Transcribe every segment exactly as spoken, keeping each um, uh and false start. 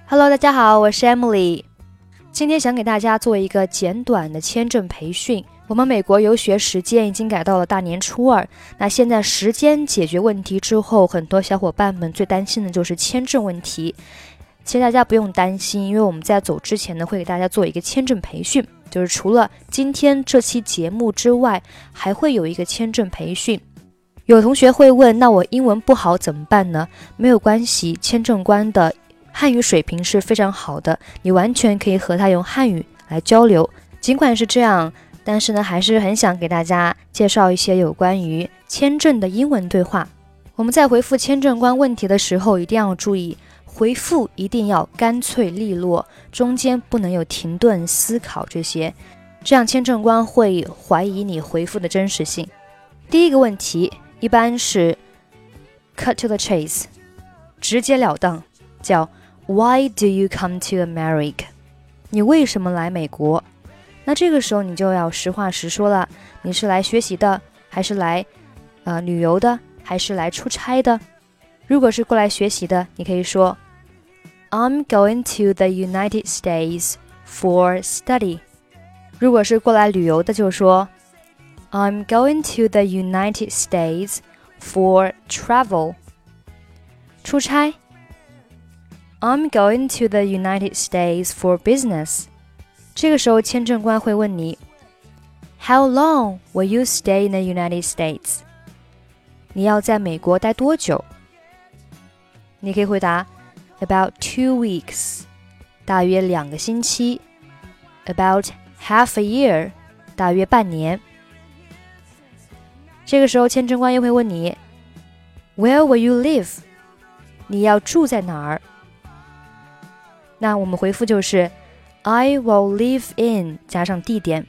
Hello， 大家好，我是 Emily。今天想给大家做一个简短的签证培训。我们美国游学时间已经改到了大年初二，那现在时间解决问题之后，很多小伙伴们最担心的就是签证问题。其实大家不用担心，因为我们在走之前呢，会给大家做一个签证培训，就是除了今天这期节目之外，还会有一个签证培训。有同学会问，那我英文不好怎么办呢？没有关系，签证官的汉语水平是非常好的，你完全可以和他用汉语来交流。尽管是这样，但是呢，还是很想给大家介绍一些有关于签证的英文对话。我们在回复签证官问题的时候，一定要注意，回复一定要干脆利落，中间不能有停顿思考这些，这样签证官会怀疑你回复的真实性。第一个问题一般是 cut to the chase， 直截了当，叫 Why do you come to America？ 你为什么来美国？那这个时候你就要实话实说了，你是来学习的，还是来、呃、旅游的，还是来出差的？如果是过来学习的，你可以说 I'm going to the United States for study。 如果是过来旅游的，就说 I'm going to the United States for travel。 出差 I'm going to the United States for business。 这个时候签证官会问你 How long will you stay in the United States？ 你要在美国待多久？你可以回答 About two weeks， 大约两个星期。 About half a year， 大约半年。这个时候签证官又会问你 Where will you live？ 你要住在哪儿？那我们回复就是 I will live in 加上地点。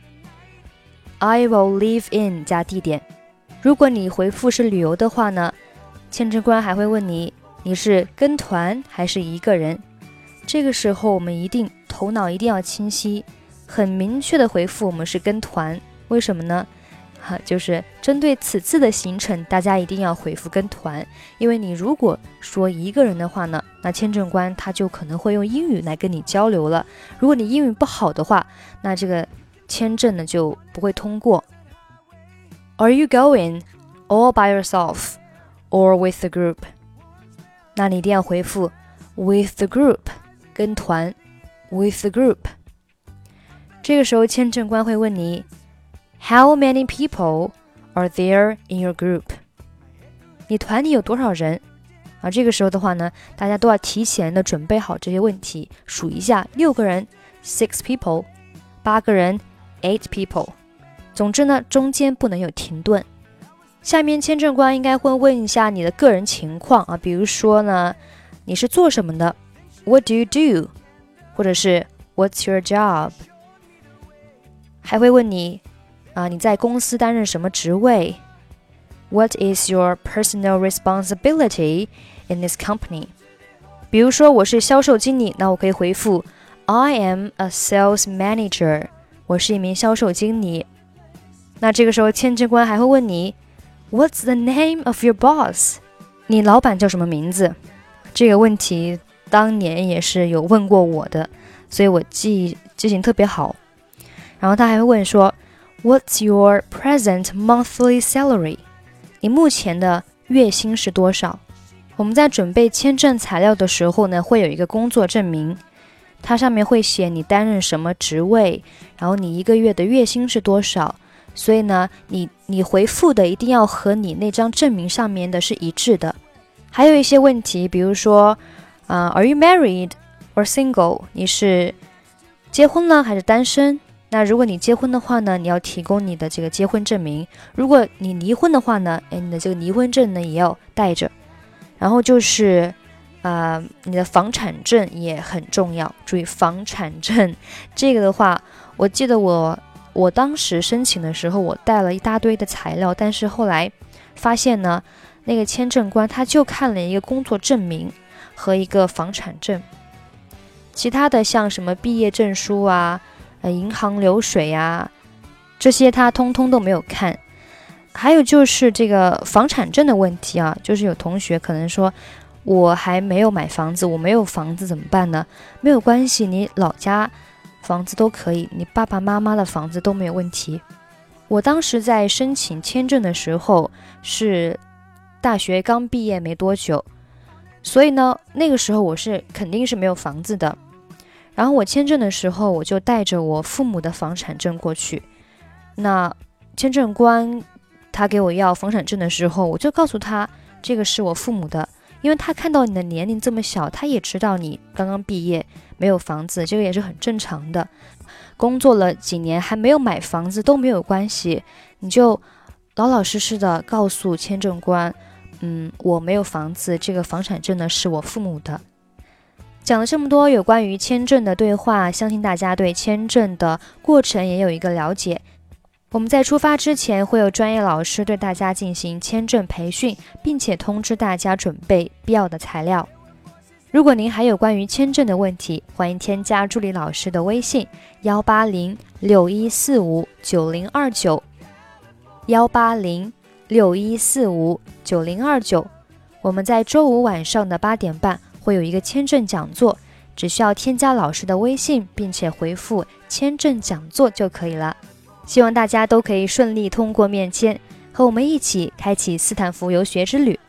I will live in 加地点。如果你回复是旅游的话呢，签证官还会问你你是跟团还是一个人。这个时候我们一定头脑一定要清晰，很明确的回复我们是跟团。为什么呢？就是针对此次的行程，大家一定要回复跟团，因为你如果说一个人的话呢，那签证官他就可能会用英语来跟你交流了。如果你英语不好的话，那这个签证呢就不会通过。 Are you going all by yourself or with the group？ 那你一定要回复 with the group， 跟团 with the group。 这个时候签证官会问你How many people are there in your group？ 你团里有多少人？啊，这个时候的话呢，大家都要提前的准备好这些问题，数一下，六个人 six people， 八个人 eight people。 总之呢，中间不能有停顿。下面签证官应该会问一下你的个人情况啊，比如说呢，你是做什么的 What do you do？ 或者是 What's your job？ 还会问你啊，你在公司担任什么职位 What is your personal responsibility in this company？ 比如说我是销售经理，那我可以回复 I am a sales manager， 我是一名销售经理。那这个时候签证官还会问你 What's the name of your boss？ 你老板叫什么名字？这个问题当年也是有问过我的，所以我记记性特别好。然后他还会问说What's your present monthly salary？ 你目前的月薪是多少？我们在准备签证材料的时候呢，会有一个工作证明，它上面会写你担任什么职位，然后你一个月的月薪是多少。所以呢，你你回复的一定要和你那张证明上面的是一致的。还有一些问题，比如说、呃、Are you married or single？ 你是结婚了还是单身？那如果你结婚的话呢，你要提供你的这个结婚证明。如果你离婚的话呢，你的这个离婚证呢也要带着。然后就是呃，你的房产证也很重要，注意房产证这个的话，我记得我我当时申请的时候，我带了一大堆的材料，但是后来发现呢，那个签证官他就看了一个工作证明和一个房产证，其他的像什么毕业证书啊呃，银行流水啊，这些他通通都没有看。还有就是这个房产证的问题啊，就是有同学可能说我还没有买房子，我没有房子怎么办呢？没有关系，你老家房子都可以，你爸爸妈妈的房子都没有问题。我当时在申请签证的时候是大学刚毕业没多久，所以呢，那个时候我是肯定是没有房子的。然后我签证的时候，我就带着我父母的房产证过去。那签证官他给我要房产证的时候，我就告诉他这个是我父母的，因为他看到你的年龄这么小，他也知道你刚刚毕业没有房子，这个也是很正常的。工作了几年还没有买房子都没有关系，你就老老实实的告诉签证官，嗯，我没有房子，这个房产证呢是我父母的。讲了这么多有关于签证的对话，相信大家对签证的过程也有一个了解。我们在出发之前会有专业老师对大家进行签证培训，并且通知大家准备必要的材料。如果您还有关于签证的问题，欢迎添加助理老师的微信幺八零六一四五九零二九幺八零六一四五九零二九。我们在周五晚上的八点半会有一个签证讲座，只需要添加老师的微信，并且回复签证讲座就可以了。希望大家都可以顺利通过面签，和我们一起开启斯坦福游学之旅。